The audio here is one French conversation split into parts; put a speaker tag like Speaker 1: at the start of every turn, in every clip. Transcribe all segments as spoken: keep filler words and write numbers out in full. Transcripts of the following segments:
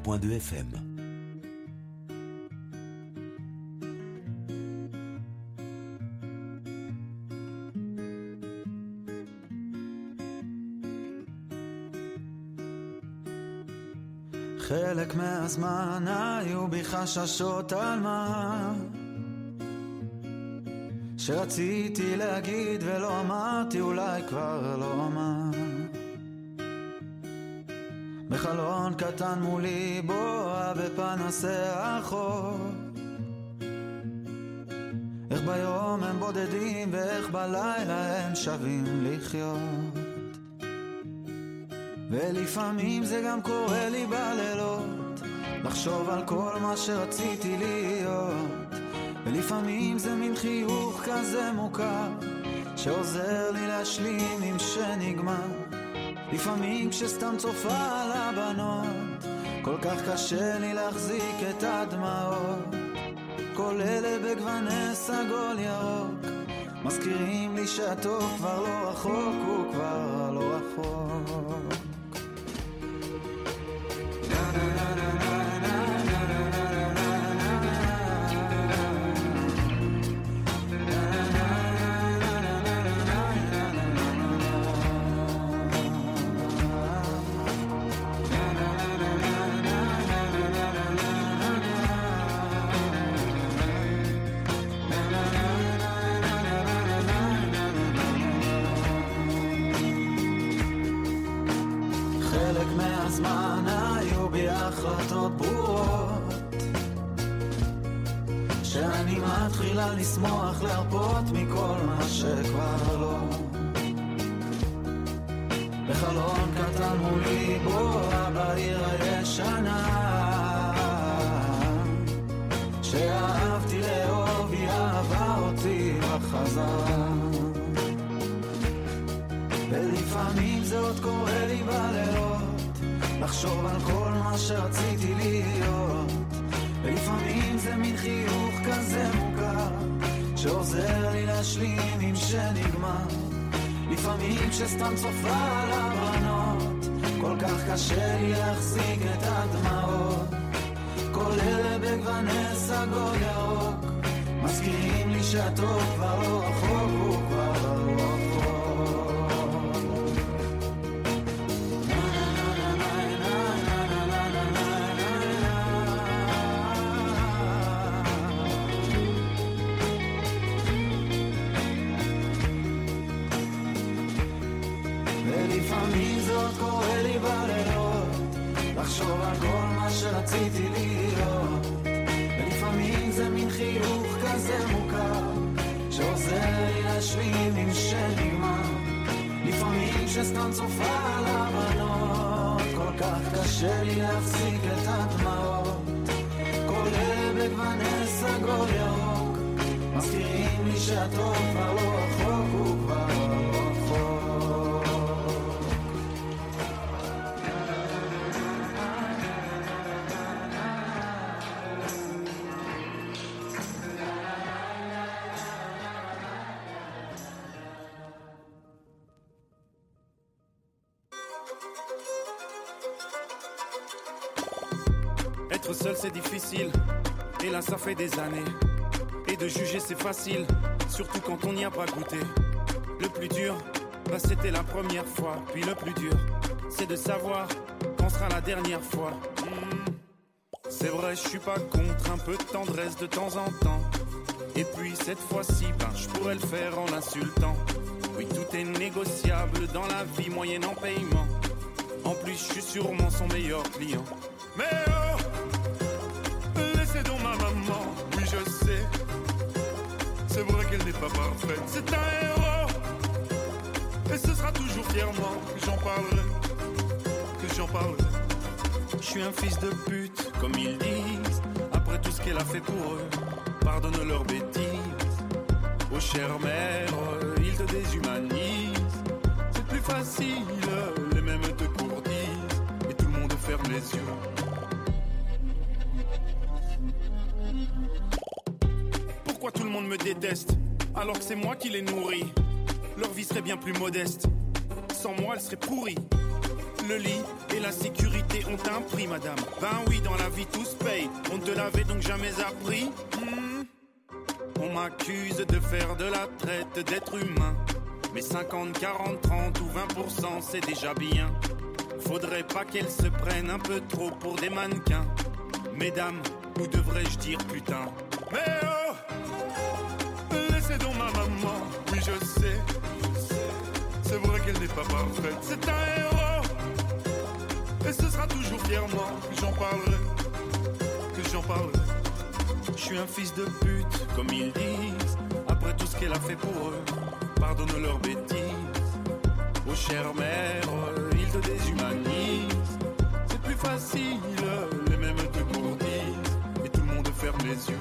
Speaker 1: point deux F M.
Speaker 2: חלק מהזמן היו בי חששות על מה שרציתי להגיד ולא אמרתי, אולי כבר לא אמר. בחלון קטן מולי בואה בפנסי החור, איך ביום הם בודדים ואיך בלילה הם שווים לחיות. ולפעמים זה גם קורה לי בלילות, לחשוב על כל מה שרציתי להיות. ולפעמים זה מין חיוך כזה מוכר שעוזר לי להשלים עם שנגמר. לפעמים כשסתם צופה על הבנות כל כך קשה לי להחזיק את הדמעות. כל אלה בגווני סגול ירוק מזכירים לי שהטוב כבר לא רחוק, הוא כבר לא רחוק. מהזמן היו בי החלטות ברורות שאני מתחילה לשמוח להרפות מכל מה שכבר לא. בחלון קטן מולי בואה בעיר הישנה שאהבתי לאהוב, היא אהבה אותי בחזרה. ולפעמים זה עוד קורה לי בלילות לחשוב על כל מה שרציתי להיות. ולפעמים זה מין חיוך כזה מוכר שעוזר לי להשלים עם שנגמר. לפעמים כשסתם צופה על הבנות כל כך קשה לי להחזיק את הדמעות. כל אלה בגווני סגול ירוק מזכירים לי שהטוב כבר לא רחוק, הוא כבר לא רחוק. ולפעמים זאת קורה לי בלילות לחשוב על כל מה שרציתי להיות. ולפעמים זה מין חיוך כזה מוכר שעוזר לי להשלים עם שנגמר. לפעמים שסתם צופה על הבנות כל כך קשה לי להפסיק את הדמעות. כל אלה בגווני סגול ירוק מזכירים לי שהטוב כבר לא רחוק, הוא כבר לא רחוק.
Speaker 3: Être seul c'est difficile, et là ça fait des années. Et de juger c'est facile, surtout quand on n'y a pas goûté. Le plus dur, bah c'était la première fois. Puis le plus dur, c'est de savoir quand sera la dernière fois. mmh. C'est vrai, je suis pas contre un peu de tendresse de temps en temps. Et puis cette fois-ci, ben je pourrais le faire en insultant. Oui, tout est négociable dans la vie moyennant paiement. En plus, je suis sûrement son meilleur client. Mais oh, laissez donc ma maman, oui je sais. C'est vrai qu'elle n'est pas parfaite, c'est un héros. Et ce sera toujours fièrement que j'en parlerai, que j'en parlerai. Je suis un fils de pute, comme ils disent. Après tout ce qu'elle a fait pour eux, pardonne leurs bêtises. Oh chère mère, ils te déshumanisent. C'est plus facile, les mêmes te courtisent. Et tout le monde ferme les yeux. Pourquoi tout le monde me déteste alors que c'est moi qui les nourris? Leur vie serait bien plus modeste. Sans moi elle serait pourrie. le lit et la sécurité ont un prix, madame. Ben oui, dans la vie tout se paye. On ne te l'avait donc jamais appris. hmm. On m'accuse de faire de la traite d'être humain. Mais cinquante, quarante, trente ou vingt pour cent c'est déjà bien. Faudrait pas qu'elles se prennent un peu trop pour des mannequins. Mesdames, ou devrais-je dire putain. Mais oh, laissez donc ma maman. Oui je sais, c'est vrai qu'elle n'est pas parfaite. C'est un héros, et ce sera toujours fièrement que j'en parlerai, que j'en parlerai. Je suis un fils de pute, comme ils disent. Après tout ce qu'elle a fait pour eux, pardonne leurs bêtises. Oh chère mère, ils te déshumanisent. C'est plus facile, les mêmes te courtisent. Et tout le monde ferme les yeux.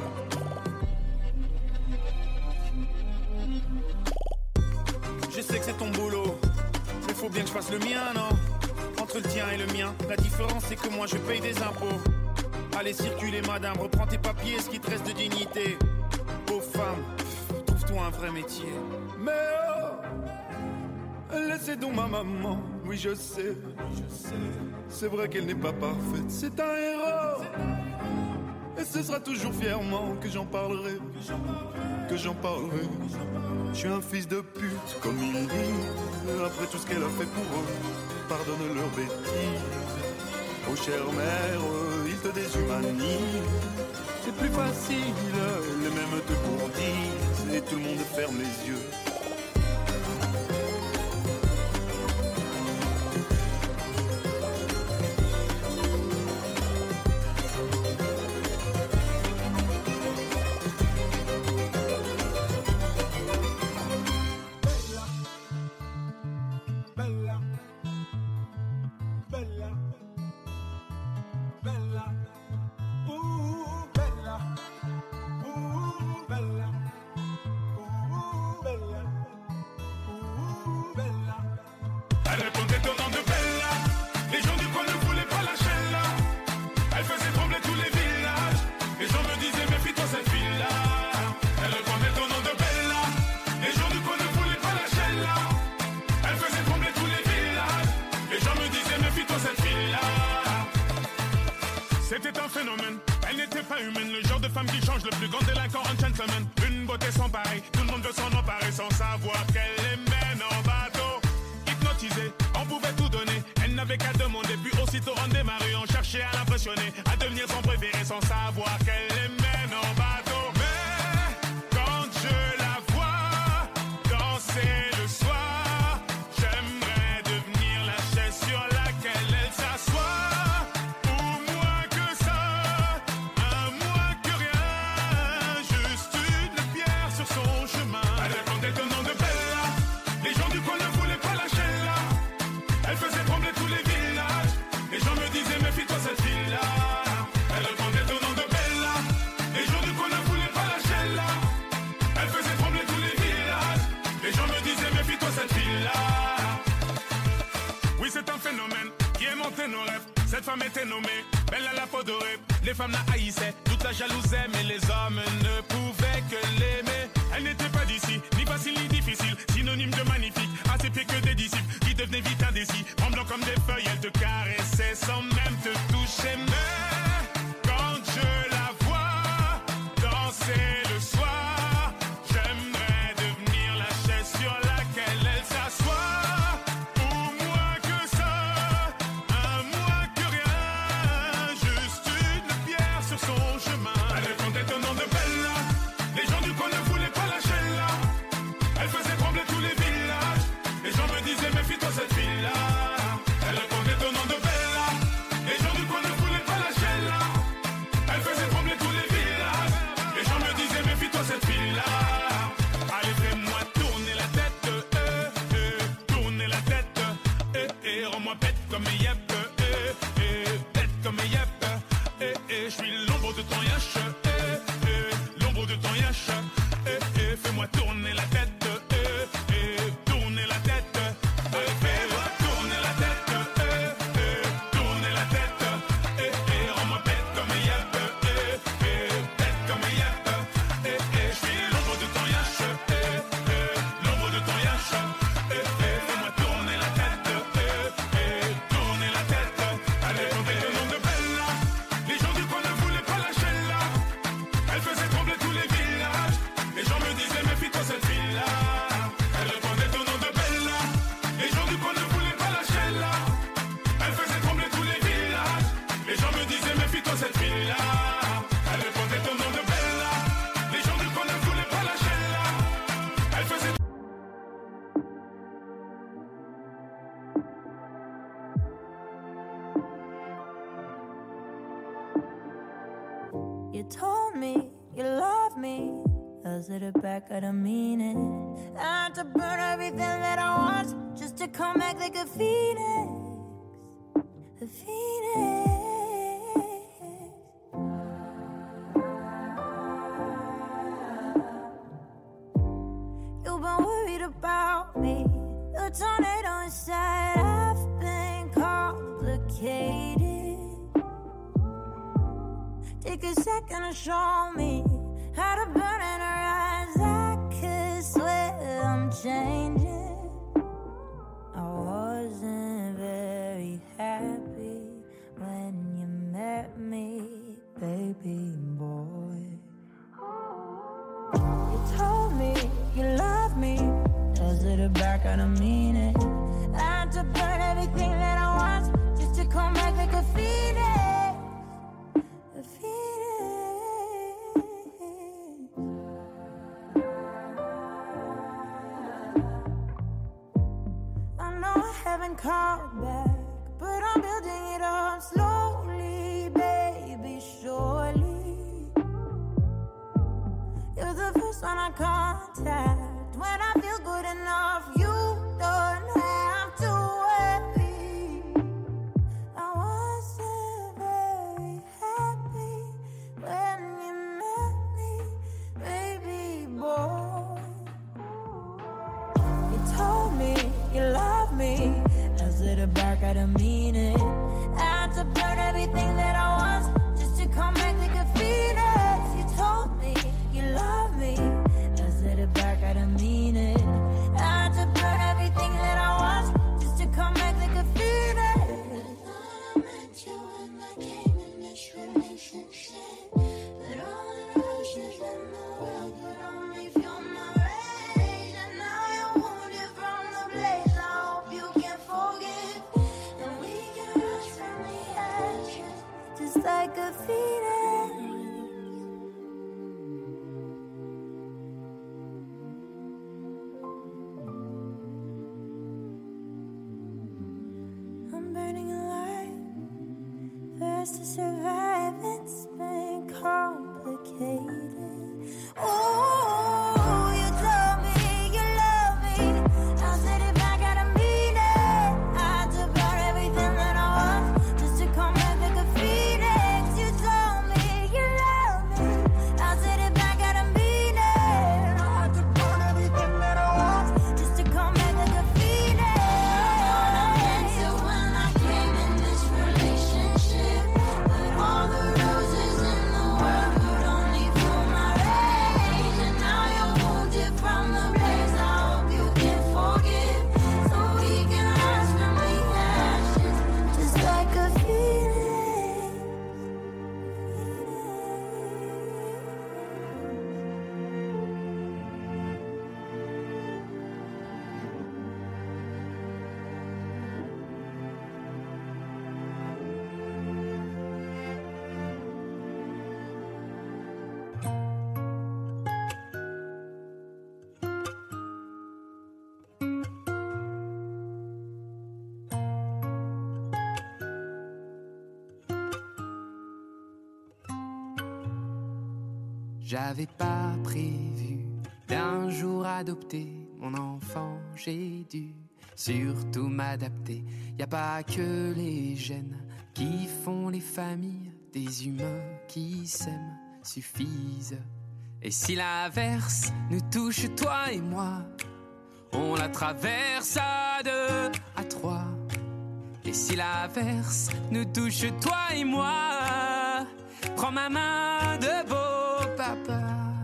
Speaker 3: Je sais que c'est ton boulot, mais faut bien que je fasse le mien, non? Entre le tien et le mien, la différence c'est que moi je paye des impôts. Allez circuler madame, reprends tes papiers, ce qui te reste de dignité. Pauvre femme, trouve-toi un vrai métier. Mais oh, laissez donc ma maman, oui je sais, c'est vrai qu'elle n'est pas parfaite. C'est un héros, et ce sera toujours fièrement que j'en parlerai, que j'en parlerai. Je suis un fils de pute, comme ils disent. Après tout ce qu'elle a fait pour eux, pardonne leurs bêtises. Oh chère mère, ils te déshumanisent. C'est plus facile, les mêmes te courtisent. Et tout le monde ferme les yeux.
Speaker 1: C'était un phénomène, elle n'était pas humaine. Le genre de femme qui change le plus grand délinquant en gentleman. Une beauté sans pareil, tout le monde veut s'en emparer sans savoir qu'elle les mène en bateau. Hypnotisée, on pouvait tout donner. Elle n'avait qu'à demander, puis aussitôt on démarrait. On cherchait à l'impressionner, à devenir son préféré sans savoir qu'elle les mène en bateau. Mais quand je la vois danser le soir, j'aimerais devenir la chaise sur laquelle elle s'assoit. Nos rêves. Cette femme était nommée belle à la peau dorée. Les femmes la haïssaient, toute la jalousaient, mais les hommes ne pouvaient que l'aimer. Elle n'était pas d'ici, ni facile ni difficile, synonyme de magnifique, à ses pieds que des disciples qui devenaient vite indécis. Tremblant comme des feuilles, elle te caressait sans même te toucher. Mais quand je la vois danser le soir, j'aimerais devenir la chaise sur laquelle elle s'assoit. Cette fille-là, elle répondait au nom de Bella. Les gens du coin ne voulaient faisait.
Speaker 4: You told me you love me. I said it back, I don't mean it. I had to burn everything that I want just to come back like a phoenix. A phoenix. You've been worried about me. The tornado inside, I've been complicated. Take a second to show me how to burn in her eyes. I could swear I'm changing. I wasn't very happy when you met me, baby boy. You told me you love me. I said it back, I don't mean it. I had to burn everything that I want just to come back like a phoenix. A phoenix. I know I haven't called back, but I'm building it up slowly, baby, surely. You're the first one I contact when I feel good enough. You don't have to worry. I wasn't very happy when you met me, baby boy. You told me you love me. I said it back, I don't mean it. I had to burn everything that I want just to come back like a phoenix. You told me you love me. I said it back, I don't mean it. I had to burn everything that I want just to come back like a phoenix. I met you when I came in this relationship, but all the roses in the world could only fuel my rage. And now you're wounded from the blaze. I hope you can forgive, and we can rise from the ashes just like a phoenix. I'm burning alive, fast to survive. It's been complicated. Oh, you told me you love me. I said it back, I don't mean it. I had to burn everything that I want just to come back like a phoenix. You told me you love me. I said it back, I don't mean it. I had to burn everything that I want just to come back like a phoenix. When I came in this relationship, but all the roses in the world could only fuel my rage. And now you're wounded from the blaze. I hope you can forgive, so we can rise from the ashes just like a phoenix.
Speaker 5: J'avais pas prévu d'un jour adopter mon enfant, j'ai dû surtout m'adapter. Y a pas que les gènes qui font les familles, des humains qui s'aiment suffisent. Et si l'averse nous touche, toi et moi, on la traverse à deux, à trois. Et si l'averse nous touche, toi et moi, prends ma main de beau papa.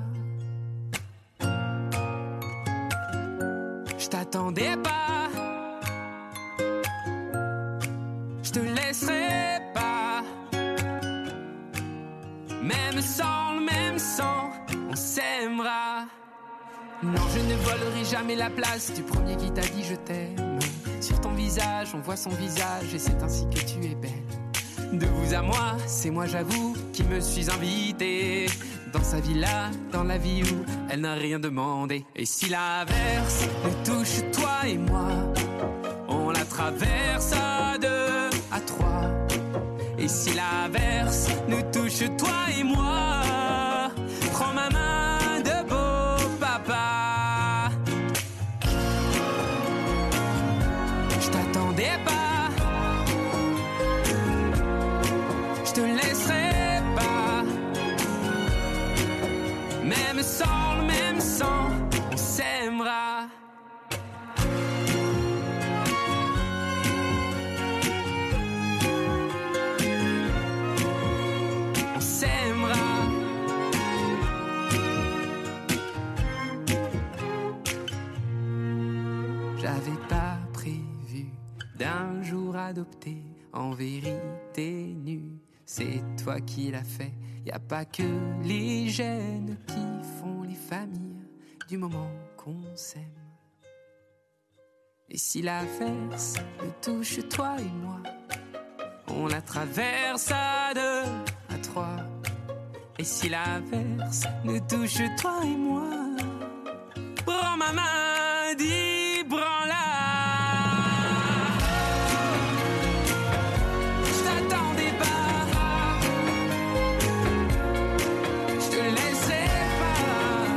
Speaker 5: Je t'attendais pas, je te laisserai pas. Même sans le même sang, on s'aimera. Non, je ne volerai jamais la place du premier qui t'a dit je t'aime. Sur ton visage, on voit son visage et c'est ainsi que tu es belle. De vous à moi, c'est moi j'avoue qui me suis invité. dans sa villa, dans la vie où elle n'a rien demandé. Et si l'averse nous touche, toi et moi, on la traverse à deux, à trois. Et si l'averse nous touche, toi et moi, prends ma main de beau papa. Je t'attendais pas, je te laisserai pas. Même sans le même sang, on s'aimera. On s'aimera. J'avais pas prévu d'un jour adopté, en vérité nue. C'est toi qui l'as fait. Y a pas que les gènes qui font les familles du moment qu'on s'aime. Et si l'averse nous touche, toi et moi, on la traverse à deux, à trois. Et si l'averse nous touche, toi et moi, prends ma main, dis branle-la. Je t'attendais pas, je te laisserai pas.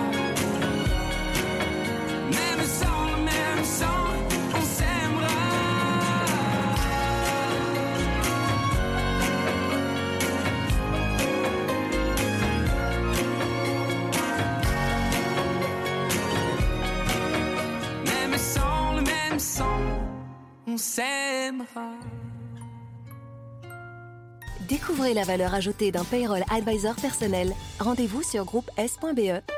Speaker 5: Même sans le même sang, on s'aimera. Même sans le même sang, on s'aimera.
Speaker 6: Découvrez la valeur ajoutée d'un payroll advisor personnel. Rendez-vous sur groupe S point B E.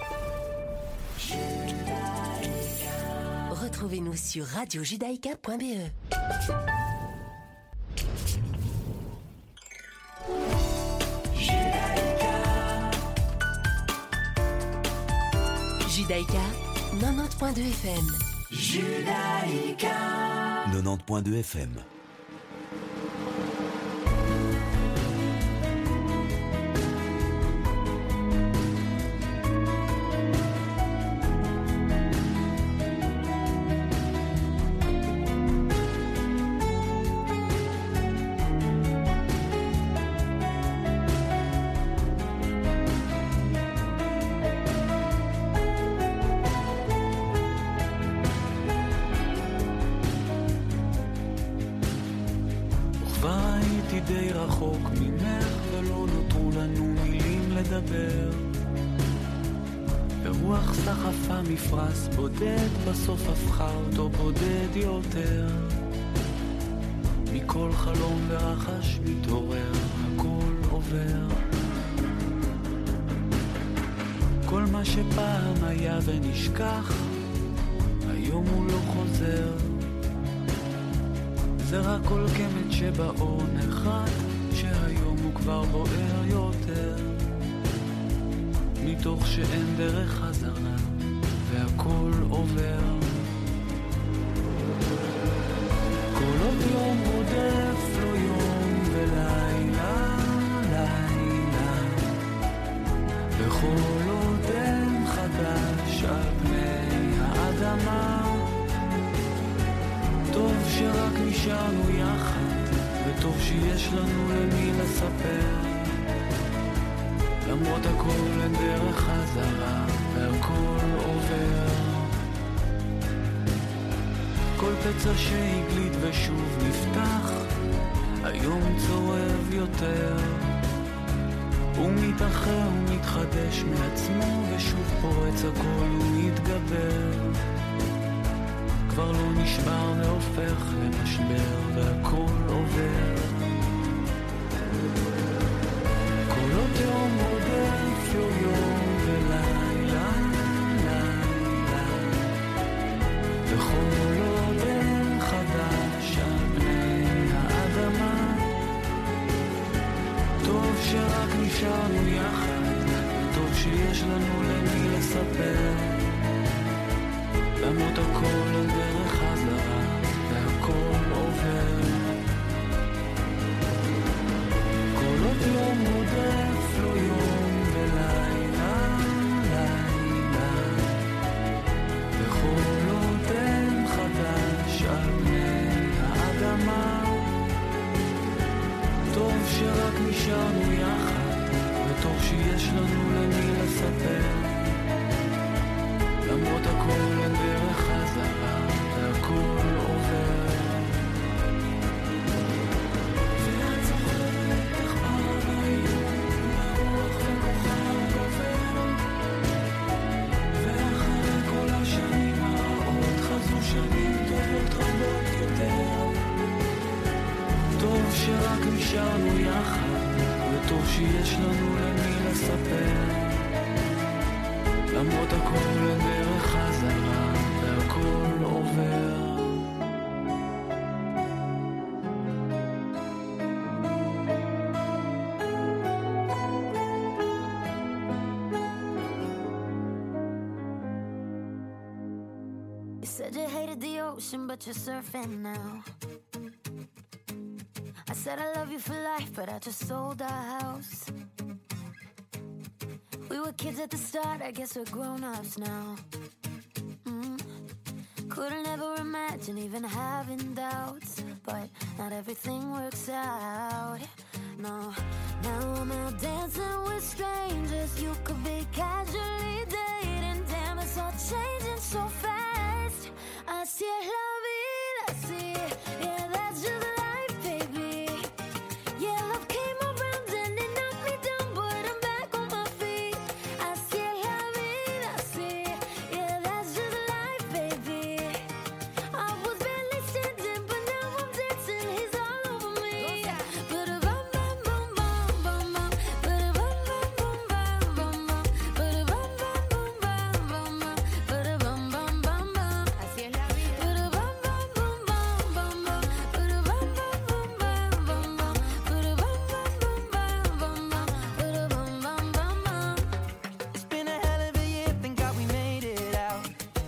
Speaker 6: Retrouvez-nous sur radio judaïka point B E. Judaïka, quatre-vingt-dix point deux F M. Judaïka
Speaker 7: quatre-vingt-dix point deux F M.
Speaker 2: די רחוק ממך ולא נותרו לנו מילים לדבר. ורוח סחפה מפרס בודד בסוף הפכה אותו בודד יותר. מכל חלום ורחש מתעורר הכל עובר. כל מה שפעם היה ונשכח היום הוא לא חוזר. זה רק כל קמת שבאור נחת שהיום הוא כבר בוער יותר. מתוך שאין דרך חזרה והכל עובר. כל עוד יום רודף לו יום ולילה לילה. וכל עוד אין חדש על פני האדמה. טוב שרק נשארנו יחד, וטוב שיש לנו למי לספר. למרות הכל אין דרך חזרה, והכל עובר. כל פצע שהגליד ושוב נפתח, היום צורב יותר. הוא מתאחר ומתחדש מעצמו, ושוב פורץ הכל ומתגבר. כבר לא נשבר והופך למשבר והכל עובר. כל עוד יום רודף לו יום ולילה לילה. וכל עוד אין חדש על פני האדמה. טוב שרק נשארנו יחד, וטוב שיש לנו למי לספר. למרות הכל על דרך חזרה והכל עובר. כל עוד יום רודף לו יום ולילה נשארנו יחד, וטוב שיש לנו למי לספר. למרות הכל אין דרך חזרה, והכל עובר. ואת זוכרת איך פעם היו הרוח וכוכב עובר, ואחרי כל השנים הרעות חזרו שנים טובות רבות יותר. טוב שרק נשארנו יחד, וטוב שיש לנו למי לספר. למרות הכל אין דרך חזרה, והכל עובר.
Speaker 4: You said you hated the ocean, but you're surfing now. I said I love you for life, but I just sold our house. We were kids at the start, I guess we're grown-ups now. mm. Couldn't ever imagine even having doubts, but not everything works out. No, now I'm out dancing with strangers. You could be casually dating. Damn, it's all changing so fast. Así es la vida, así, yeah, that's just life, baby. Yeah, love came around and it knocked me down, but I'm back on my feet. Así es la vida, así, yeah, that's just life, baby. I was barely standing, but now I'm dancing. He's all over me. Ba-da-bum, bum, bum, bum, bum, bum. Ba-da-bum, bum, bum, bum, bum, bum. Ba-da-bum, bum, bum, bum, bum, bum. Ba-da-bum, bum, bum, bum. Así es la vida. Ba-da-bum, bum, bum, bum, bum, bum. Ba-da-bum, bum, bum, bum, bum, bum. Ba-da-bum, bum, bum, bum, bum, bum. Ba-da-bum, bum, bum, bum.
Speaker 2: It's been a hell of a year, thank God we made it out.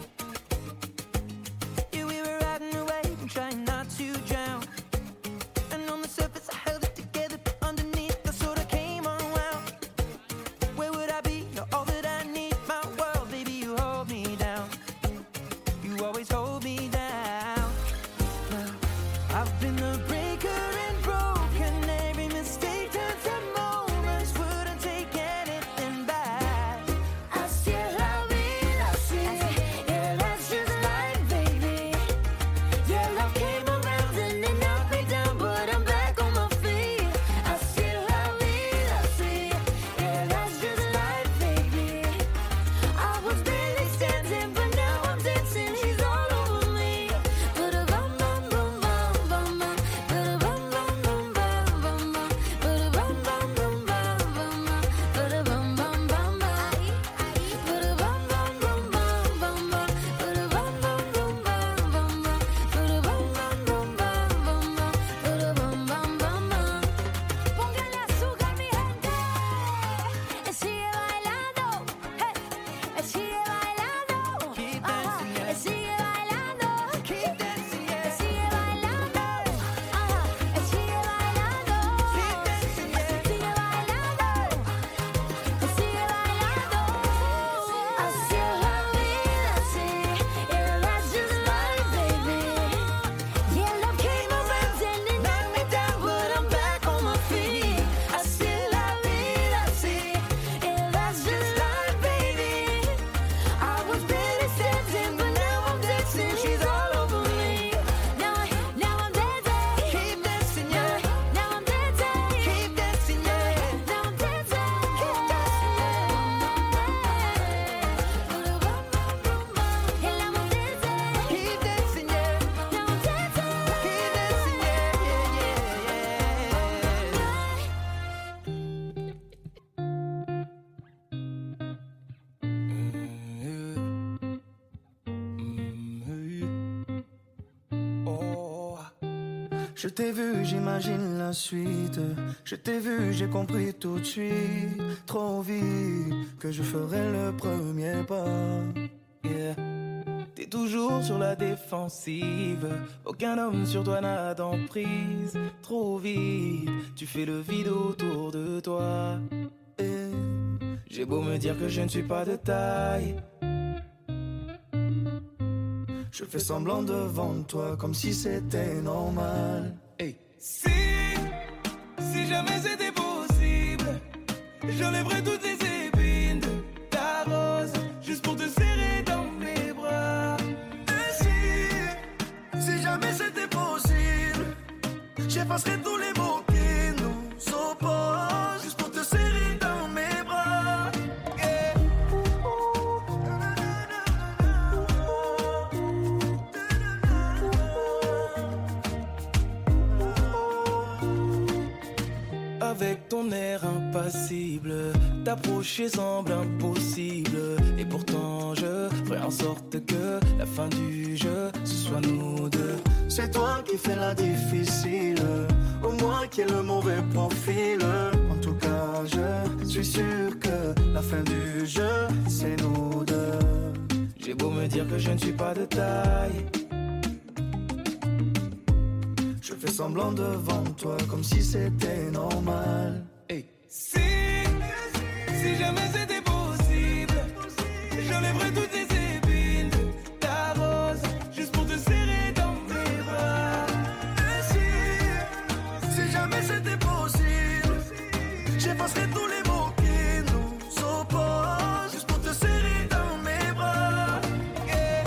Speaker 2: Yeah, we were riding away and trying not to drown. And on the surface I held it together, but underneath I sort of came unwound. Where would I be? You're all that I need. My world, baby, you hold me down. You always hold me down. Now, I've been the breaker and broken. Every mistake turns to moments. Wouldn't take anything back.
Speaker 4: Así es la vida, así, yeah, that's just life, baby. Yeah, love came around and it knocked me down, but I'm back on my feet. Así es la vida, así, yeah, that's just life, baby. I was barely standing, but now I'm dancing. He's all over me. Ba-da-bum, bum, bum, bum, bum, bum. Ba-da-bum, bum, bum, bum, bum, bum. Ba-da-bum, bum, bum, bum, bum, bum. Ba-da-bum, bum, bum, bum. Ba-da-bum, bum, bum, bum, bum, bum. Ba-da-bum, bum, bum, bum, bum, bum. Ba-da-bum, bum, bum, bum, bum, bum. Ba-da-bum, bum, bum, bum. Póngale azúcar, mi gente. Él sigue bailando. Hey. Él sigue bailando.
Speaker 2: Keep
Speaker 4: Ajá.
Speaker 2: dancing, yeah.
Speaker 4: Él sigue bailando.
Speaker 2: Keep dancing,
Speaker 4: Él
Speaker 2: yeah.
Speaker 4: sigue bailando. Ajá. Él sigue bailando.
Speaker 2: Keep dancing, yeah.
Speaker 4: Él sigue bailando. Él sigue bailando. Así es la vida, así. Yeah, that's just life, baby. Yeah, love came around and it knocked me down, but I'm back on my feet. Así es la vida, así. Yeah, that's just life, baby. I was barely standing, but now I'm dancing. She's all over me. Now, I, now I'm dancing.
Speaker 2: Keep dancing, yeah.
Speaker 4: Now I'm dancing.
Speaker 2: Keep dancing, yeah.
Speaker 4: Now I'm dancing.
Speaker 2: Keep dancing, yeah.
Speaker 4: And now I'm dancing.
Speaker 2: Keep dancing, yeah.
Speaker 4: Now I'm dancing.
Speaker 2: Keep dancing, yeah, yeah, yeah, yeah. Oh. Je t'ai vu, j'imagine la suite. Je t'ai vu, j'ai compris tout de suite. Trop vite que je ferai le premier pas. Yeah. T'es toujours sur la défensive. Aucun homme sur toi n'a d'emprise. Trop vite, tu fais le vide autour de toi. Et j'ai beau me dire que je ne suis pas de taille, je fais semblant devant toi comme si c'était normal. Hey. Si, si jamais c'était pour
Speaker 8: J'enlèverai toutes les épines de ta rose, juste pour te serrer dans mes bras. Et si, si jamais c'était possible, j'effacerai tous les mots qui nous opposent, juste pour te serrer dans mes bras. Yeah. Avec ton air impassible, t'approcher semble impossible. Et pourtant je ferai en sorte que la fin du jeu, ce soit nous deux. C'est toi qui fais la difficile, au moins qui est le mauvais profil. En tout cas je suis sûr que la fin du jeu, c'est nous deux. J'ai beau me dire que je ne suis pas de taille, je fais semblant devant toi comme si c'était normal. Hey. Si, si jamais c'était possible, j'enlèverais toutes les épines de ta rose, juste pour te serrer dans mes bras. Et si, si jamais c'était possible, j'effacerais tous les mots qui nous opposent, juste pour te serrer dans mes bras. Yeah.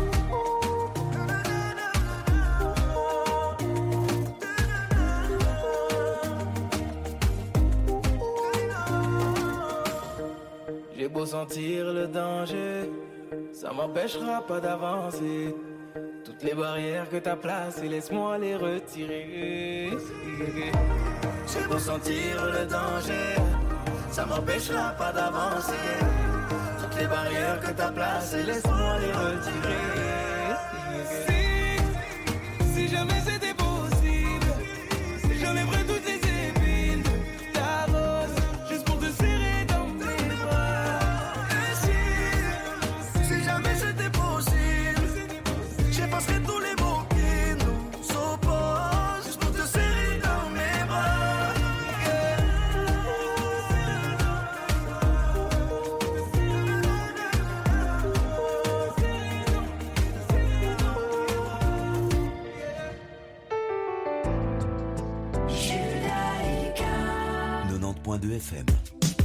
Speaker 8: J'ai beau sentir le danger, ça m'empêchera pas d'avancer. Toutes les barrières que t'as placées, laisse-moi les retirer. J'ai beau sentir le danger, ça m'empêchera pas d'avancer. Toutes les barrières que t'as placées, laisse-moi les retirer. Si, si jamais c'était possible, j'enlèverais toutes les épines de ta rose, juste pour te serrer dans mes bras. Et si, si jamais c'était possible, j'effacerais tous les mots qui nous opposent, juste pour te serrer dans mes bras. Yeah.
Speaker 7: quatre-vingt-dix point deux F M.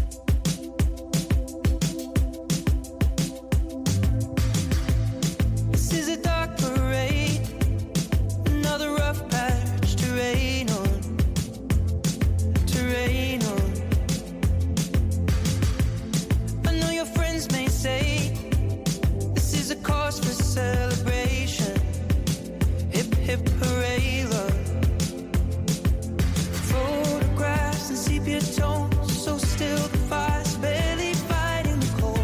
Speaker 8: This is a dark parade, another rough patch to rain on, to rain on. I know your friends may say this is a cause for celebration. Hip hip hooray, love. Photographs and sepia tones, so still the fire's barely fighting the cold.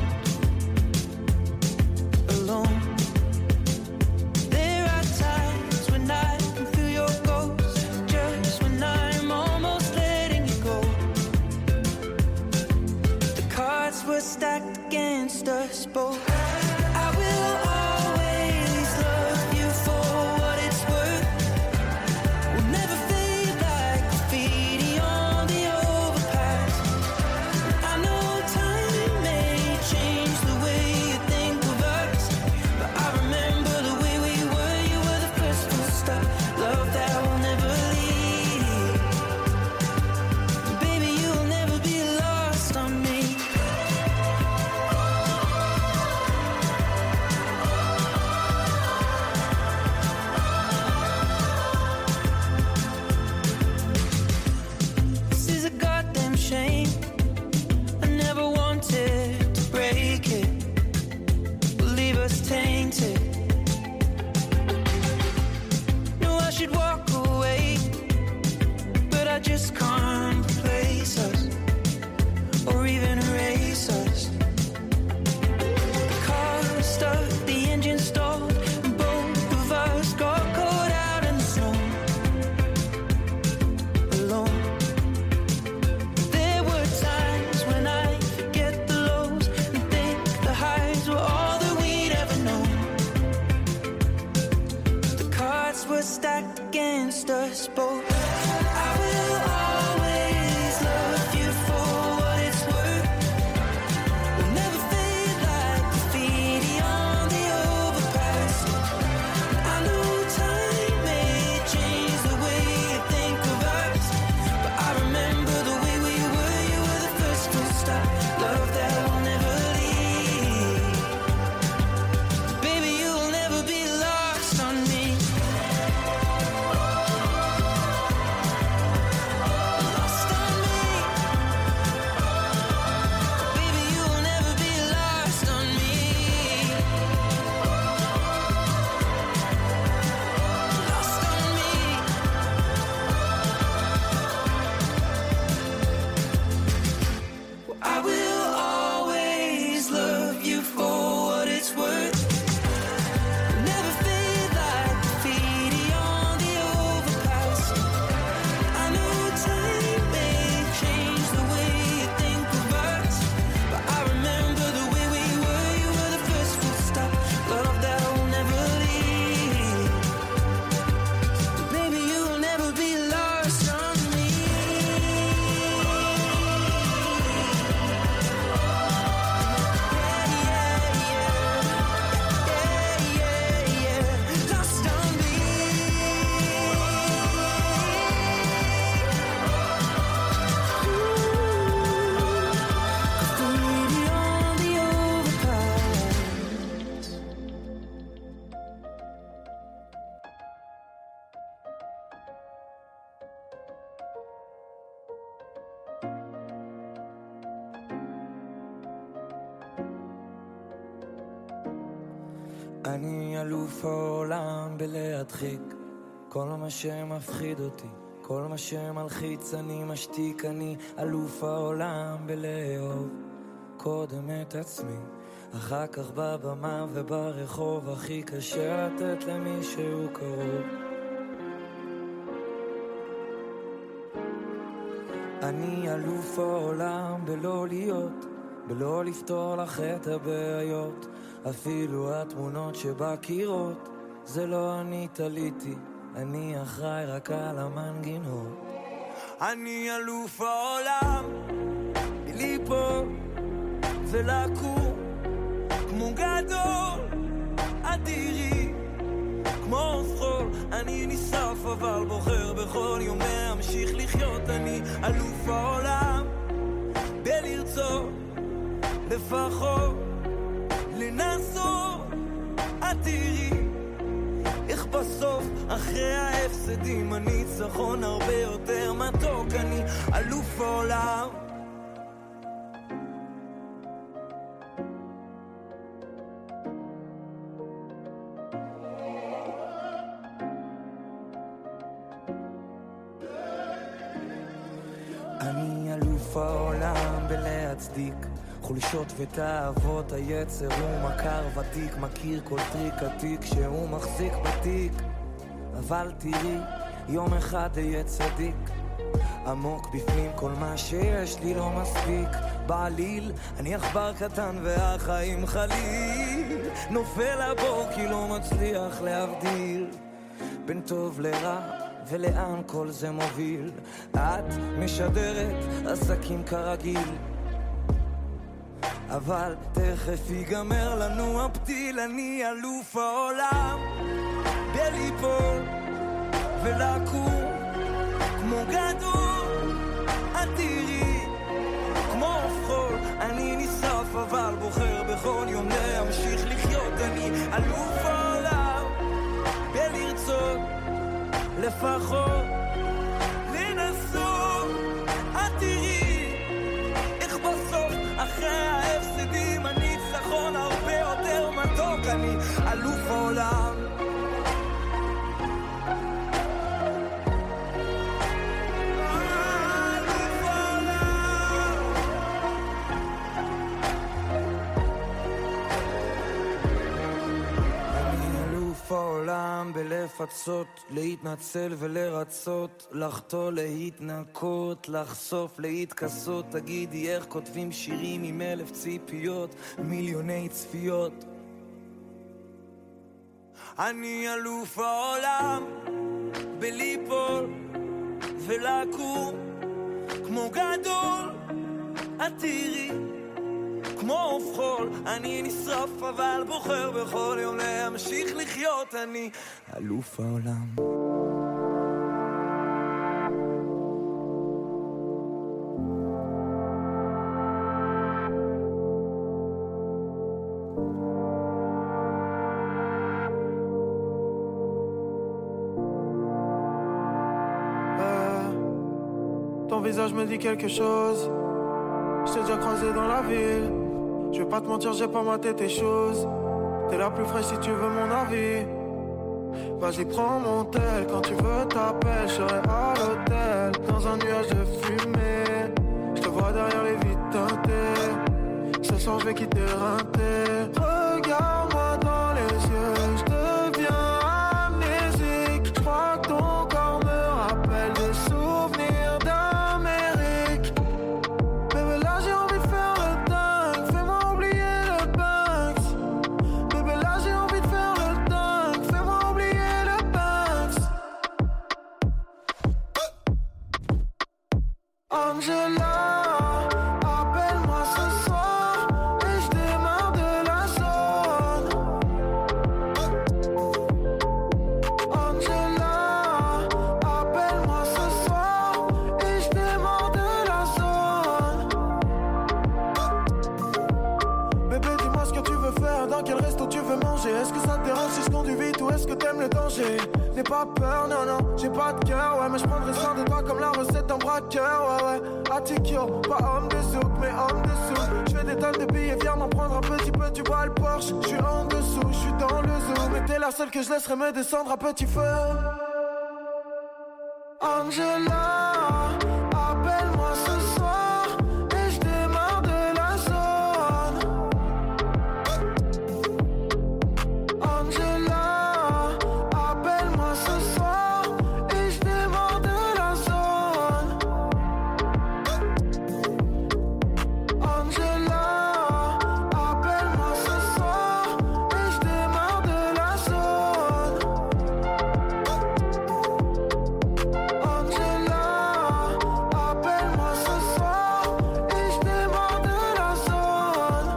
Speaker 8: Alone. There are times when I can feel your ghost, just when I'm almost letting you go. The cards were stacked against us both. I will always love you for what it's worth. We'll never fade like graffiti on the overpass. I know time may change the way you think of us, but I remember the way we were. You were the first to stop. Love that will never leave. Baby, you'll never be lost on me. This is a goddamn shame. I never wanted to break it, leave us tainted. No, I should walk away, but I just can't replace us or even erase us. The car stuck, the engine stalled, and both of us got caught out in the snow. Alone. There were times when I forget the lows and think the highs were all that we'd ever known. The cards were stacked against us both. I will always love you for what it's worth. We'll never fade like graffiti on the overpass. I know time may change the way you think of us, but I remember the way we were. You were the first to אני אלוף העולם בלהדחיק כל מה שמפחיד אותי, כל מה שמלחיץ אני משתיק. אני אלוף העולם בלאהוב קודם את עצמי, אחר כך בבמה וברחוב. הכי קשה לתת למישהו קרוב. אני אלוף העולם בלא להיות, בלא לפתור לך את הבעיות. אפילו התמונות שבקירות זה לא אני תליתי, אני אחראי רק על המנגינות. אני אלוף העולם ליפול ולקום כמו גדול אדירי, כמו חול. אני נשרף אבל בוחר בכל יום להמשיך לחיות. אני אלוף העולם בלרצות לפחות לנסות. את תראי איך בסוף אחרי ההפסדים הניצחון הרבה יותר מתוק. אני אלוף העולם. אני אלוף העולם בלהצדיק חולשות ותאוות היצר. הוא מכר ותיק, מכיר כל טריק עתיק שהוא מחזיק בתיק. אבל תראי, יום אחד אהיה צדיק. עמוק בפנים כל מה שיש לי לא מספיק. בעליל, אני עכבר קטן והחיים חליל. נופל הבור כי לא מצליח להבדיל בין טוב לרע ולאן כל זה מוביל. את משדרת עסקים כרגיל, אבל תכף ייגמר לנו הפתיל. אני אלוף העולם בליפול ולקום כמו גדול. את תראי כמו חול. אני נשרף אבל בוחר בכל יום להמשיך לחיות. אני אלוף העולם בלרצות לפחות לנסות. את תראי איך בסוף אחרי ההפסדים הניצחון הרבה יותר מתוק. אני אלוף העולם. העולם בלפצות, להתנצל ולרצות, לחתול להתנקות, לחשוף להתכסות. תגידי איך כותבים שירים עם אלף ציפיות, מיליוני צפיות. אני אלוף העולם בליפול ולקום כמו גדול. את תראי כמו חול. אני נשרף אבל בוחר בכל יום להמשיך לחיות. אני אלוף העולם.
Speaker 9: euh, Ton visage me dit quelque chose. Je t'ai déjà croisé dans la ville. Je vais pas te mentir, j'ai pas maté tes choses. T'es la plus fraîche si tu veux mon avis. Vas-y, prends mon tel. Quand tu veux t'appelles, je serai à l'hôtel. Dans un nuage de fumée, je te vois derrière les vitres teintées. Ce soir je vais quitter Rinté. Regarde-moi dans les yeux, je deviens amnésique. Je crois que ton corps me rappelle des souvenirs d'Amérique. Bébé, là j'ai envie de faire le dingue. Fais-moi oublier le Banks. Bébé, là j'ai envie de faire le dingue. Fais-moi oublier le Banks. Angela, appelle-moi ce soir et je démarre de la zone. Angela, appelle-moi ce soir et je démarre de la zone. Bébé, dis-moi ce que tu veux faire, dans quel resto tu veux manger. Est-ce que ça te dérange si je conduis vite ou est-ce que t'aimes le danger? N'aie pas peur, non, non, j'ai pas de cœur, ouais, mais je prendrai soin de toi comme la recette d'un braqueur, ouais, ouais. Atikyo, pas homme de souk, mais homme de souk. Je fais des tonnes de billets, viens m'en prendre un petit peu, tu vois le Porsche. Je suis en dessous, je suis dans le zoo, mais t'es la seule que je laisserai me descendre à petit feu. Angela, appelle-moi ce soir et je démarre de la zone. Angela, appelle-moi ce soir et je démarre de la zone. Angela, appelle-moi ce soir et je démarre de la zone. Angela, appelle-moi ce soir et je démarre de la zone.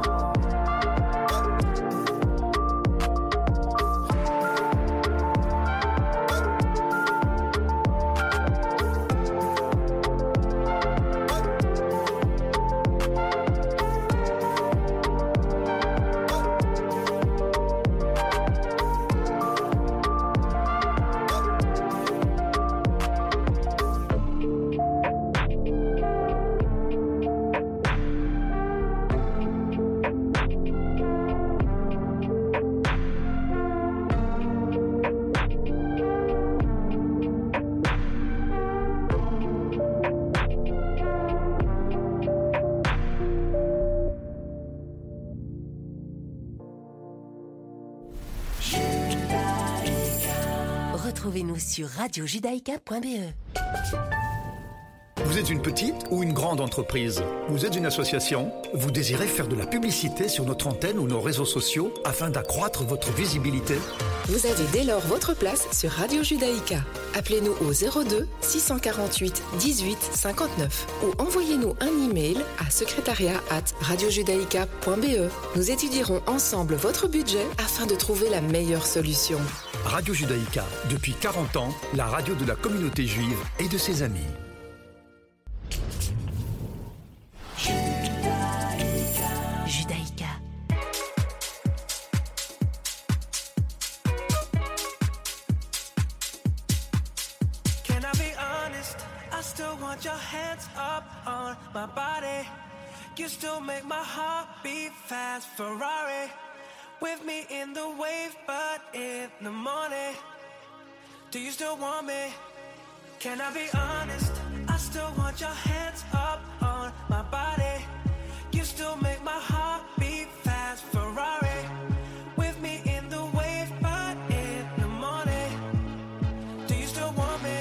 Speaker 6: Retrouvez-nous sur radio judaïka point b e.
Speaker 10: Vous êtes une petite ou une grande entreprise? Vous êtes une association? Vous désirez faire de la publicité sur notre antenne ou nos réseaux sociaux afin d'accroître votre visibilité?
Speaker 11: Vous avez dès lors votre place sur Radio Judaïka. Appelez-nous au zéro deux six cent quarante-huit dix-huit cinquante-neuf ou envoyez-nous un email à secrétariat arobase radiojudaïka point b e. Nous étudierons ensemble votre budget afin de trouver la meilleure solution.
Speaker 10: Radio Judaïka, depuis quarante ans, la radio de la communauté juive et de ses amis.
Speaker 6: Judaïka.
Speaker 8: Can I be honest? I still want your hands up on my body. You still make my heart beat fast. Ferrari with me in the wave, but in the morning. Do you still want me? Can I be honest? I still want your hands up on my body. You still make my heart beat fast. Ferrari with me in the wave, but in the morning. Do you still want me?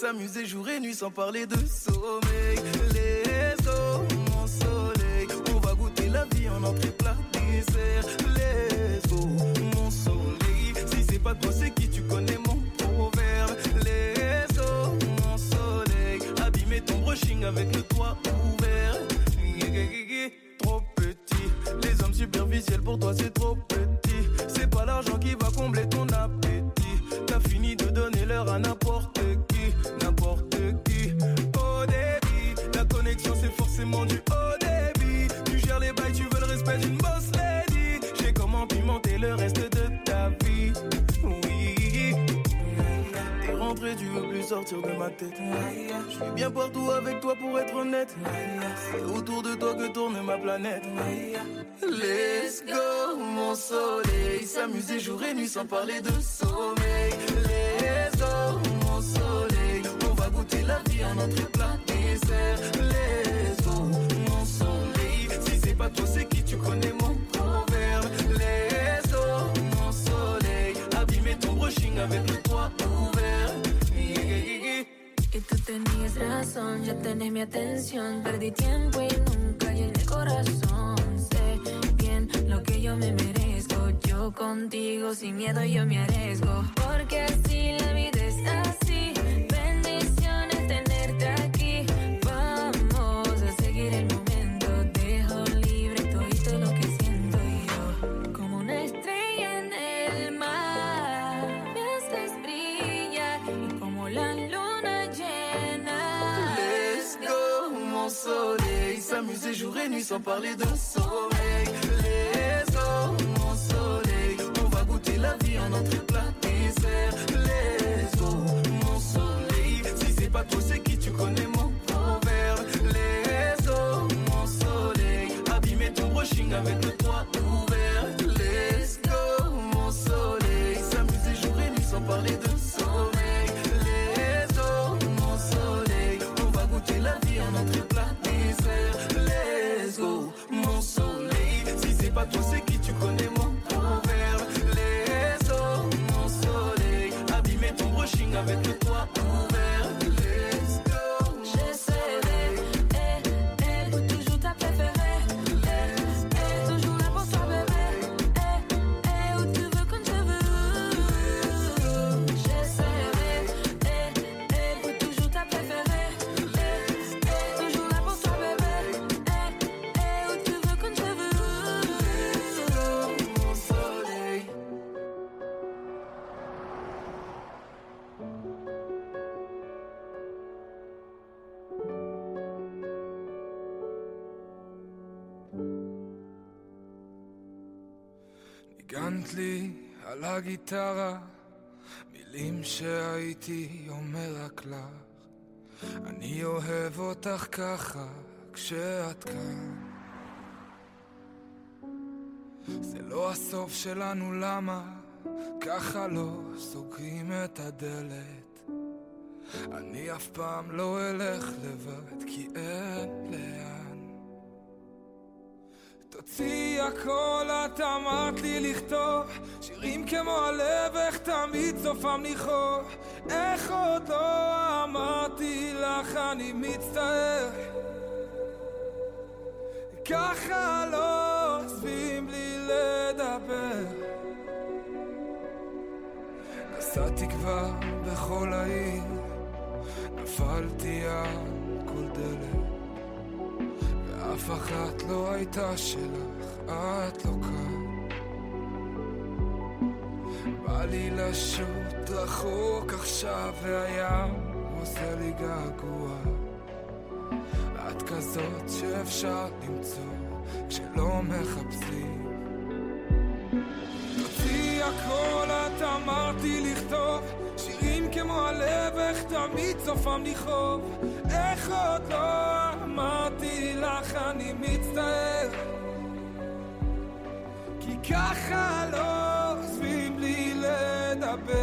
Speaker 8: s'amuser jour et nuit sans parler de sommeil. Let's go, mon soleil. On va goûter la vie en entrée plat dessert. Let's go, mon soleil. Si c'est pas toi, c'est qui? Tu connais mon proverbe. Let's go, mon soleil. Abîmer ton brushing avec le toit ouvert. Trop petit. Les hommes superficiels pour toi c'est trop petit. C'est pas l'argent qui va combler ton appétit. T'as fini de donner l'heure à n'importe qui. N'importe qui. Au débit, la connexion c'est forcément du haut débit. Tu gères les bails, tu veux le respect d'une boss lady. J'ai comment pimenter le reste de ta vie. Oui. T'es rentré, tu veux plus sortir de ma tête. Je suis bien partout avec toi pour être honnête. C'est autour de toi que tourne ma planète. Let's go, mon soleil. S'amuser jour et nuit sans parler de sommeil. Let's go, mon soleil. On va goûter la vie en entrée plat dessert. Let's go, mon soleil. Si c'est pas toi, c'est qui? Tu connais mon proverbe. Let's go, mon soleil. Abîmer ton brushing avec le toit ouvert.
Speaker 4: Y tú tenías razón, ya tenés mi atención. Perdí tiempo y nunca llené el corazón. Sé bien lo que yo me merezco. Yo contigo sin miedo yo me arriesgo. Porque así la vida es así. Bendiciones tenerte aquí. Vamos a seguir el momento. Dejo libre todo lo que siento yo. Como una estrella en el mar. Me haces brillar y como la luna.
Speaker 8: Soleil, s'amuser jour et nuit sans parler de sommeil. Let's go, mon soleil. On va goûter la vie en entrée plat dessert. Let's go, mon soleil. Si c'est pas toi, c'est qui? Tu connais mon proverbe. Let's go, mon soleil. Abîmer ton brushing avec le toit ouvert. Let's go, mon soleil. S'amuser jour et nuit sans parler de sommeil. Let's go, mon soleil. On va goûter la vie en entrée plat. Let's go, mon soleil. Si c'est pas toi, c'est qui? Tu connais mon proverbe. Let's go, mon soleil. Abîmer ton brushing avec le toit ouvert. Let's go,
Speaker 4: j'essaierai, eh, eh, pour toujours ta préférée. Eh, eh, toujours là pour toi, bébé. Eh, eh, où tu veux, quand je veux. J'essaierai, eh, eh, pour toujours ta préférée.
Speaker 12: ניגנת לי על הגיטרה מילים שהייתי אומר רק לך אני אוהב אותך ככה כשאת כאן זה לא הסוף שלנו למה ככה לא סוגרים את הדלת אני אף פעם לא אלך לבד כי אין לאן תוציא הכל את אמרת לי לכתוב שירים כמו הלב איך תמיד סופם לכאוב איך עוד לא אמרתי לך אני מצטער ככה לא עוזבים בלי לדבר נסעתי כבר בכל העיר נפלתי על כל דלת ואף אחת לא הייתה שלך, את לא כאן בא לי לשוט רחוק עכשיו והים עושה לי געגוע את כזאת שאפשר למצוא כשלא מחפשים תוציא הכל את אמרתי לכתוב שירים כמו הלב איך תמיד סופם לכאוב איך עוד לא אמרתי לך אני מצטער כי ככה לא עוזבים לי לדבר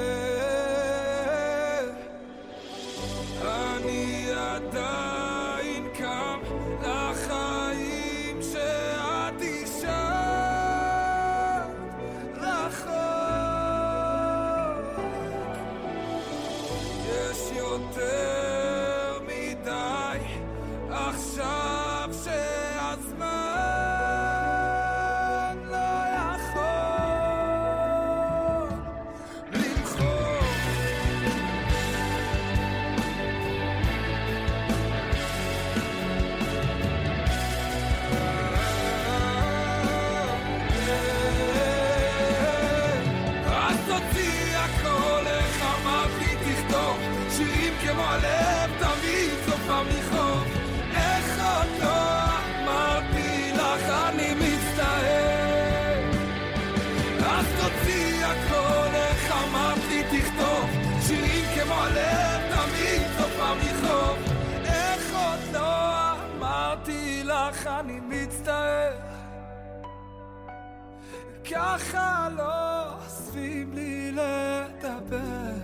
Speaker 12: אני עדיין קם לחיים שאת אישה רחוק יש יותר להגיד לך אני מצטער, ככה לא אוספים לי לדבר.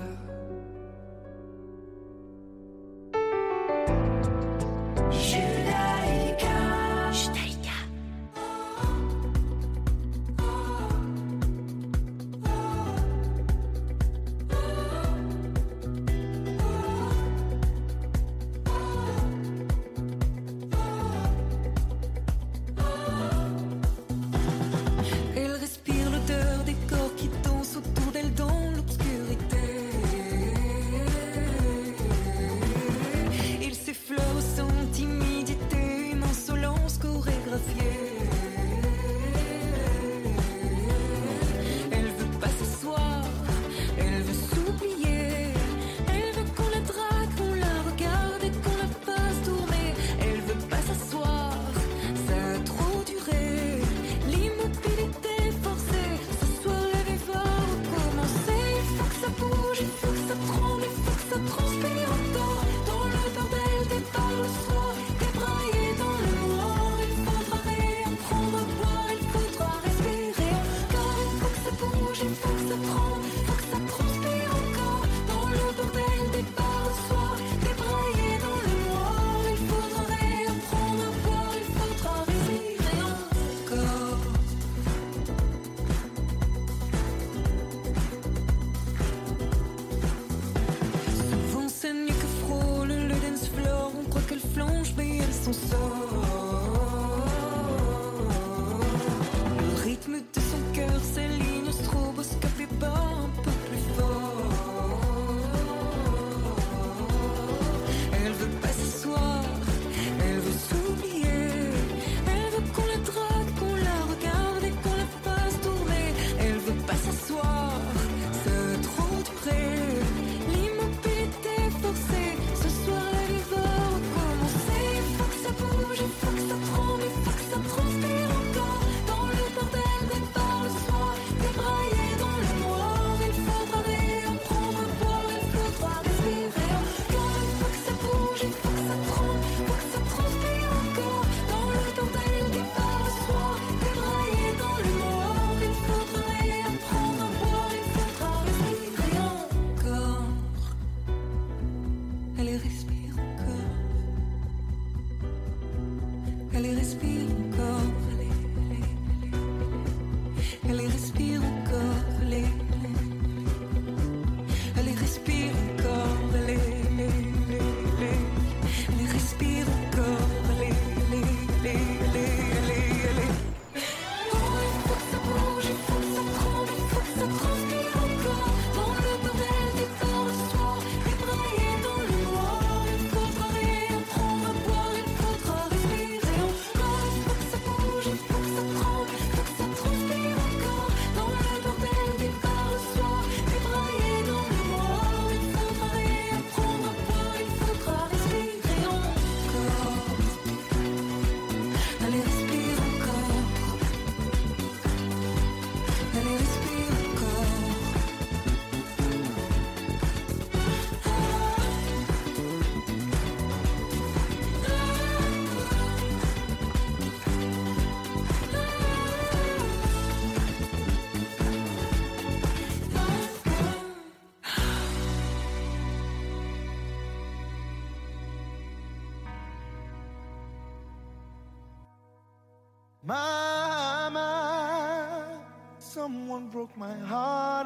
Speaker 8: Mama, someone broke my heart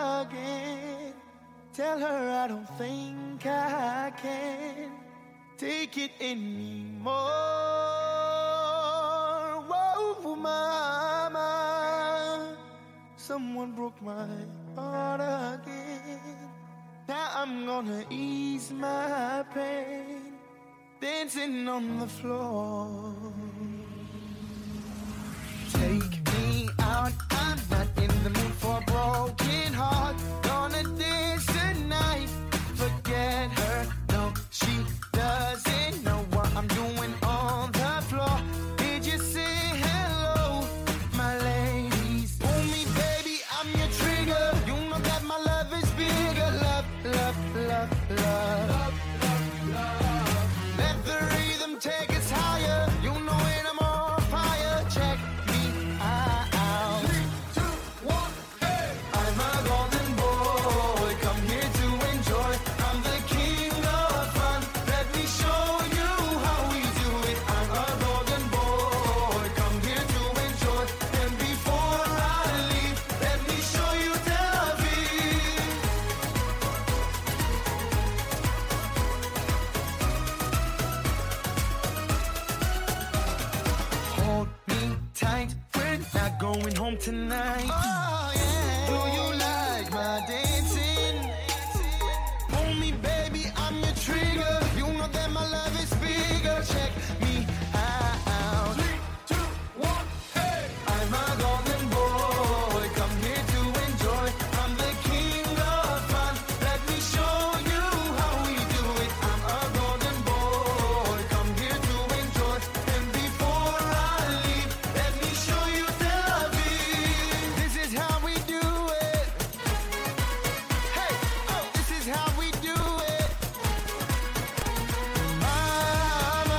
Speaker 8: again. Tell her I don't think I can take it anymore. Whoa, Mama, someone broke my heart again. Now I'm gonna ease my pain, dancing on the floor. Take me out, I'm not in the mood for a broken heart. Gonna dance tonight, forget her, no, she doesn't know what I'm doing on the floor. Did you say hello, my ladies? Pull me, baby, I'm your trigger. You know that my love is bigger. Love, love, love, love, love, love, love. Let the rhythm take us higher. You know
Speaker 13: not going home tonight.
Speaker 8: Oh yeah. Do you like my dancing? Pull me, baby, I'm your trigger. You know that my love is bigger. Check me out. Three, two, one, hey! I'm a golden boy, come here to enjoy. I'm the king of fun. Let me show you how we do it. I'm a golden boy, come here to enjoy. And before I leave, let me show you Tel Aviv. This is how we do it. Hey, oh, this is how we do it. Mama,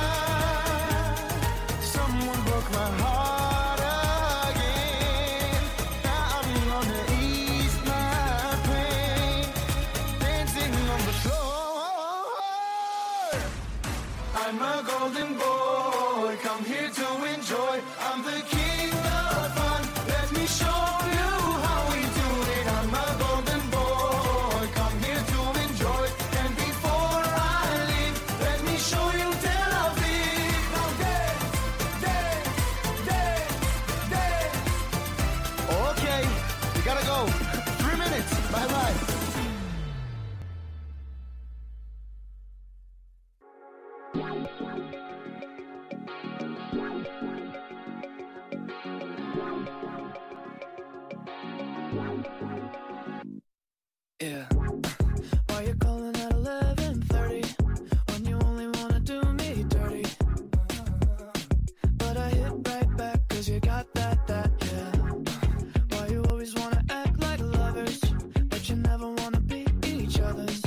Speaker 8: someone broke my heart again. Now I'm gonna ease my pain, dancing on the floor. I'm a golden boy, come here to enjoy. I'm the king of fun. Let me show you how we do it. I'm a golden boy, come here to enjoy. And before I leave, let me show you Tel Aviv. Now dance, dance, dance, dance. Okay, we gotta go. Three minutes. Bye bye.
Speaker 9: Yeah. Why you calling at eleven thirty when you only wanna do me dirty? But I hit right back cause you got that, that, yeah. Why you always wanna act like lovers, but you never wanna be each other's?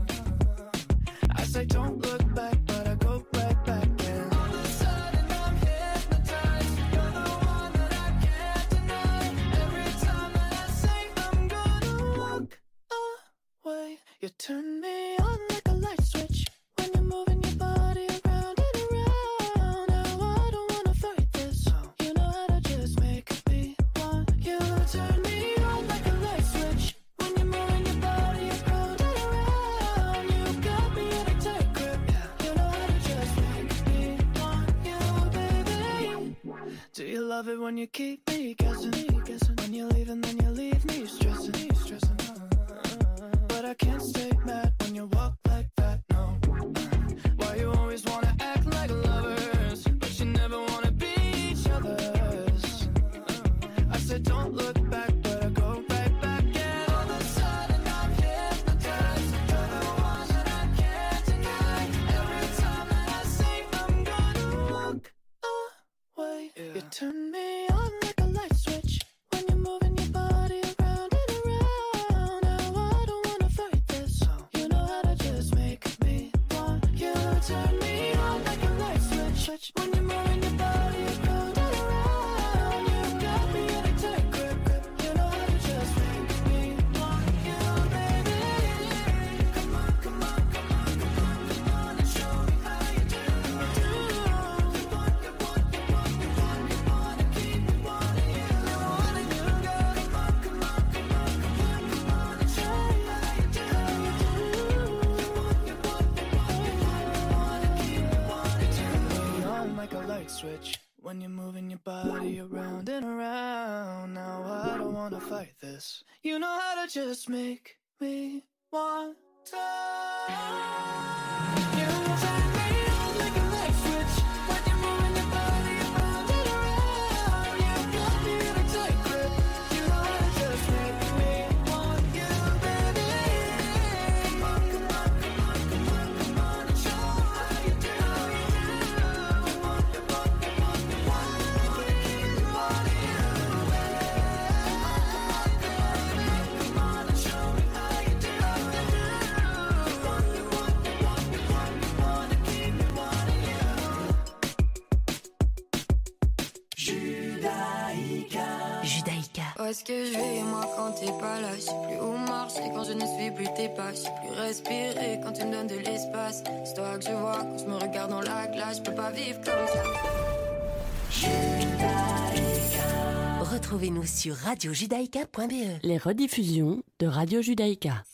Speaker 9: I say don't look back, but I go right back, yeah. All of a sudden I'm hypnotized. You're the one that I can't deny. Every time that I say I'm gonna walk away, you turn me on like a light switch when you're moving your body around and around. Now I don't wanna fight this. You know how to just make me want you. Turn me on like a light switch when you're moving your body around and around. You got me in a tight grip. You know how to just make me want you, baby. Do you love it when you keep me guessing? When you leave and then you leave me stressing, stressing. But I can't stay mad when you walk like that, no. Why you always wanna act like lovers, but you never wanna be each other's? I said don't look back, but I go right back, and all of a sudden I'm hypnotized. You're the one that I can't deny. Every time that I say I'm gonna walk away, you turn me on like a light switch when you're moving your body around and around. Now I don't wanna fight this. You know how to just make me want you. Turn me on like a light switch when you're moving your body around and around. You got me in a tight grip. You know how to just make me want you, baby. Come on, come on, come on, come on, come on and show me how you do. You want, you want, you want, you want, you want to keep me wanting you. Wanting you, girl. Come on, come on, come on, come on, come on and show me how you do. You want, you want, you want, you want, you want to keep me wanting you. Turn me on like a light switch when you're moving your body around and around. Now I don't wanna fight this. You know how to just make me want to. You turn me on like a light switch when you're moving your body around and around. You got me in a tight grip. You know how to just make me want you, baby. Come on, come on, come on, come on, come on and show me how you do. You want, you want, you want, you want, you want to keep me wanting you. Come on and show me how you do. You want, you want, you want, you want, you want to keep me wanting you.
Speaker 7: Judaïka.
Speaker 14: Judaïka. Où est-ce que je vais, moi, quand t'es pas là? Je sais plus où marcher quand je ne suis plus tes pas. Je sais plus respirer quand tu me donnes de l'espace. C'est toi que je vois quand je me regarde dans la glace. Je peux pas vivre comme ça.
Speaker 7: Judaïka.
Speaker 6: Retrouvez-nous sur radio judaïka point b e.
Speaker 15: Les rediffusions de Radio Judaïka.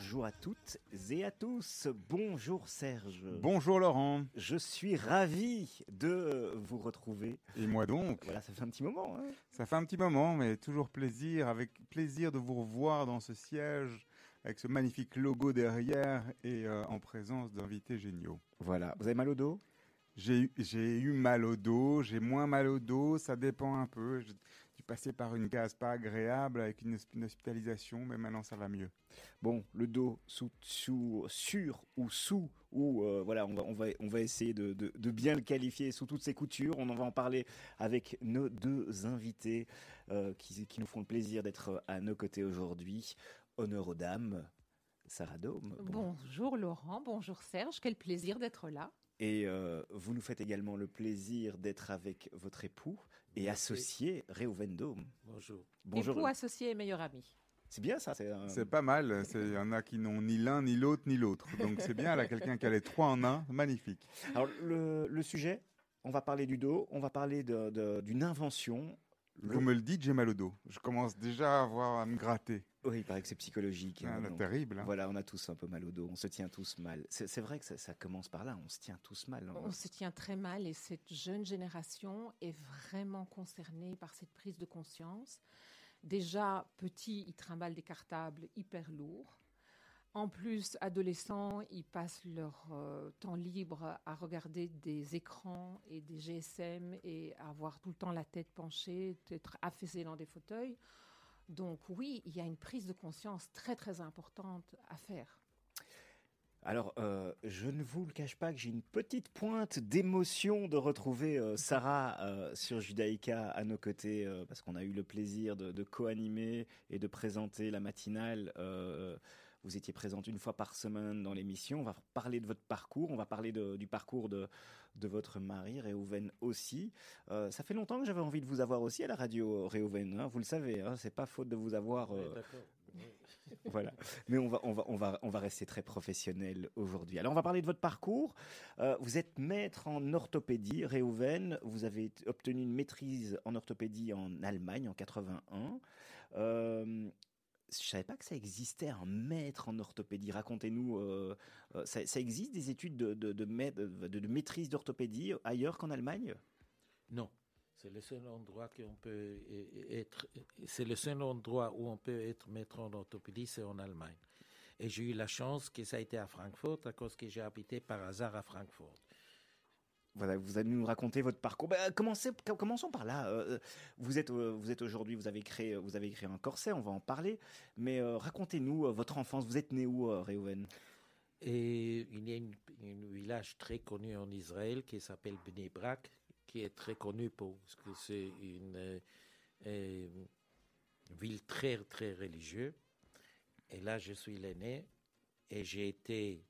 Speaker 16: bonjour à toutes et à tous. Bonjour Serge.
Speaker 17: Bonjour Laurent.
Speaker 16: Je suis ravi de vous retrouver.
Speaker 17: Et moi donc.
Speaker 16: Voilà, ça fait un petit moment. Hein.
Speaker 17: Ça fait un petit moment, mais toujours plaisir, avec plaisir de vous revoir dans ce siège, avec ce magnifique logo derrière et euh, en présence d'invités géniaux.
Speaker 16: Voilà. Vous avez mal au dos ?
Speaker 17: J'ai eu, j'ai eu mal au dos, j'ai moins mal au dos, ça dépend un peu. J'ai dû passer par une case pas agréable avec une, une hospitalisation, mais maintenant ça va mieux.
Speaker 16: Bon, le dos sous, sous, sur ou sous, ou euh, voilà, on va, on va, on va essayer de, de, de bien le qualifier sous toutes ses coutures. On en va en parler avec nos deux invités euh, qui, qui nous font le plaisir d'être à nos côtés aujourd'hui. Honneur aux dames, Sarah Dôme.
Speaker 18: Bon. Bonjour Laurent, bonjour Serge, quel plaisir d'être là.
Speaker 16: Et euh, vous nous faites également le plaisir d'être avec votre époux et Merci. associé, Réhouven Dôme.
Speaker 19: Bonjour.
Speaker 18: Bonjour. Époux, associé et meilleur ami.
Speaker 16: C'est bien ça. C'est, un...
Speaker 17: c'est pas mal. Il y en a qui n'ont ni l'un, ni l'autre, ni l'autre. Donc c'est bien, là, quelqu'un qui a les trois en un. Magnifique.
Speaker 16: Alors le, le sujet, on va parler du dos, on va parler de, de, d'une invention.
Speaker 17: Vous le... me le dites, j'ai mal au dos. Je commence déjà à, avoir, à me gratter.
Speaker 16: Oui, il paraît que c'est psychologique.
Speaker 17: Ah,
Speaker 16: hein,
Speaker 17: donc, terrible. Hein.
Speaker 16: Voilà, on a tous un peu mal au dos, on se tient tous mal. C'est, c'est vrai que ça, ça commence par là, on se tient tous mal.
Speaker 18: On, on se tient très mal et cette jeune génération est vraiment concernée par cette prise de conscience. Déjà, petits, ils trimballent des cartables hyper lourds. En plus, adolescents, ils passent leur euh, temps libre à regarder des écrans et des G S M et à avoir tout le temps la tête penchée, être affaissés dans des fauteuils. Donc oui, il y a une prise de conscience très très importante à faire.
Speaker 16: Alors, euh, je ne vous le cache pas que j'ai une petite pointe d'émotion de retrouver euh, Sarah euh, sur Judaïka à nos côtés, euh, parce qu'on a eu le plaisir de, de co-animer et de présenter la matinale. Euh, vous étiez présente une fois par semaine dans l'émission. On va parler de votre parcours, on va parler de, du parcours de, de votre mari, Réhouven aussi. Euh, ça fait longtemps que j'avais envie de vous avoir aussi à la radio, Réhouven. Hein, vous le savez, hein, c'est pas faute de vous avoir. Euh,
Speaker 19: oui, d'accord. Oui.
Speaker 16: Voilà. Mais on va, on va, on va, on va rester très professionnel aujourd'hui. Alors, on va parler de votre parcours. Euh, vous êtes maître en orthopédie, Réhouven. Vous avez obtenu une maîtrise en orthopédie en Allemagne en quatre-vingt-un. Euh, Je ne savais pas que ça existait, un maître en orthopédie. Racontez-nous, euh, ça, ça existe des études de, de, de, de, de maîtrise d'orthopédie ailleurs qu'en Allemagne ?
Speaker 19: Non, c'est le seul endroit qu'on peut être. C'est le seul endroit où on peut être maître en orthopédie, c'est en Allemagne. Et j'ai eu la chance que ça a été à Francfort, à cause que j'ai habité par hasard à Francfort.
Speaker 16: Voilà, vous allez nous raconter votre parcours. Bah, commencez, commençons par là. Euh, vous êtes, euh, vous êtes aujourd'hui, vous avez créé, vous avez créé un corset. On va en parler. Mais euh, racontez-nous euh, votre enfance. Vous êtes né où, euh, Réhouven ?
Speaker 19: Et il y a un village très connu en Israël qui s'appelle Bnei Brak, qui est très connu pour parce que c'est une euh, euh, ville très très religieuse. Et là, je suis l'aîné et j'ai été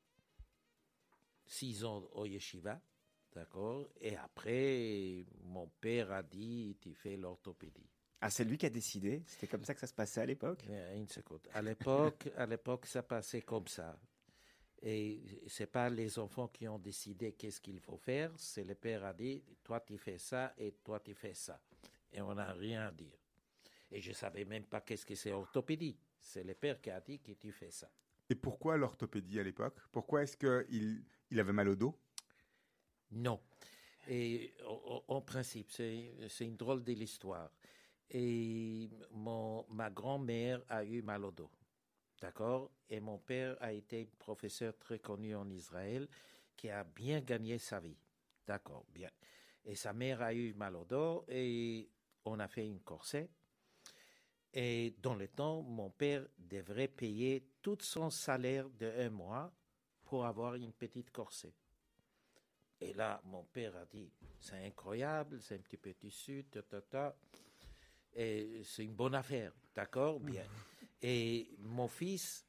Speaker 19: six ans au yeshiva. D'accord. Et après, mon père a dit, tu fais l'orthopédie.
Speaker 16: Ah, c'est lui qui a décidé ? C'était comme ça que ça se passait à l'époque ?
Speaker 19: Une seconde. À l'époque, à l'époque, ça passait comme ça. Et c'est pas les enfants qui ont décidé qu'est-ce qu'il faut faire. C'est le père a dit, toi tu fais ça et toi tu fais ça. Et on n'a rien à dire. Et je savais même pas qu'est-ce que c'est orthopédie. C'est le père qui a dit que tu fais ça.
Speaker 17: Et pourquoi l'orthopédie à l'époque ? Pourquoi est-ce qu'il il avait mal au dos ?
Speaker 19: Non. Et en, en principe, c'est, c'est une drôle de l'histoire. Et mon, ma grand-mère a eu mal au dos. D'accord ? Et mon père a été professeur très connu en Israël qui a bien gagné sa vie. D'accord, bien. Et sa mère a eu mal au dos et on a fait une corset. Et dans le temps, mon père devrait payer tout son salaire de un mois pour avoir une petite corset. Et là, mon père a dit, c'est incroyable, c'est un petit peu tissu, ta, ta, ta. Et c'est une bonne affaire, d'accord, bien. Et mon fils